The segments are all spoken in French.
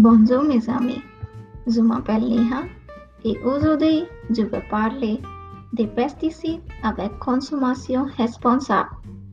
Bonjour mes amis, je m'appelle Neha et aujourd'hui je vais parler des pesticides avec consommation responsable.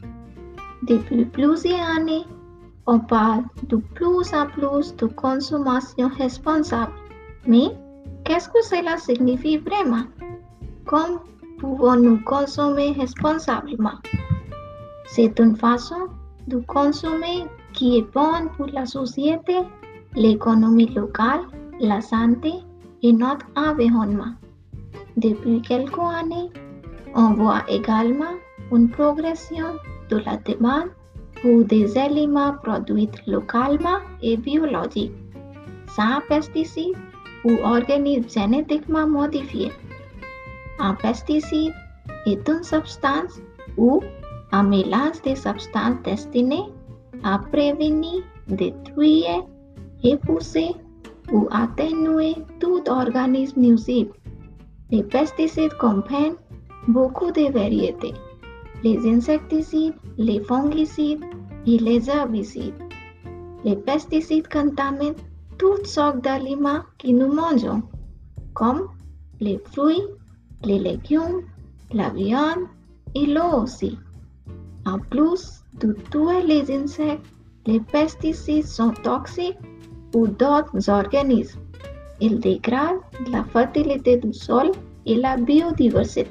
Depuis plusieurs années, on parle de plus en plus de consommation responsable. Mais qu'est-ce que cela signifie vraiment? Comment pouvons-nous consommer responsablement? C'est une façon de consommer qui est bonne pour la société, l'économie locale, la santé et notre environnement. Depuis quelques années, on voit également une progression de la demande pour des aliments produits localement et biologiques, sans pesticides ou organismes génétiquement modifiés. Un pesticide est une substance ou un mélange de substances destinées à prévenir, détruire, repousser ou atténuer tout organisme nuisible. Les pesticides comprennent beaucoup de variétés, les insecticides, les fongicides et les herbicides. Les pesticides contaminent toutes sortes d'aliments que nous mangeons, comme les fruits, les légumes, la viande et l'eau aussi. En plus de tuer les insectes, les pesticides sont toxiques pour d'autres organismes. Ils dégradent la fertilité du sol et la biodiversité.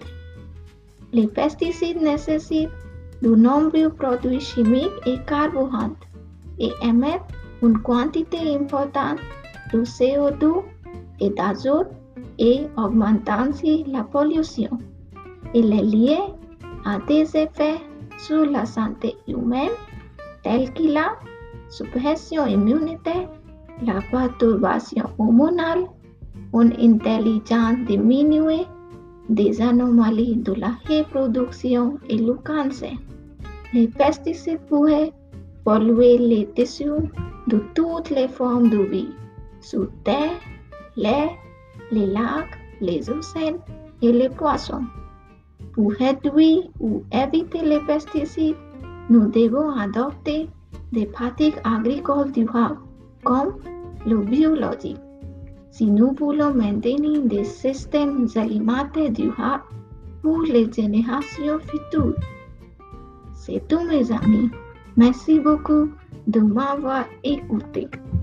Les pesticides nécessitent de nombreux produits chimiques et carburants et émettent une quantité importante de CO2 et d'azote et augmentent ainsi la pollution. Il est lié à des effets sur la santé humaine tels que la suppression immunitaire, la perturbation hormonale, une intelligence diminuée, des anomalies de la reproduction et le cancer. Les pesticides pourraient polluer les tissus de toutes les formes de vie, sur terre, l'air, les lacs, les océans et les poissons. Pour réduire ou éviter les pesticides, nous devons adopter des pratiques agricoles durables, comme le biologique. Si nous voulons maintenir des systèmes alimentaires durables pour les générations futures. C'est tout mes amis. Merci beaucoup de m'avoir écouté.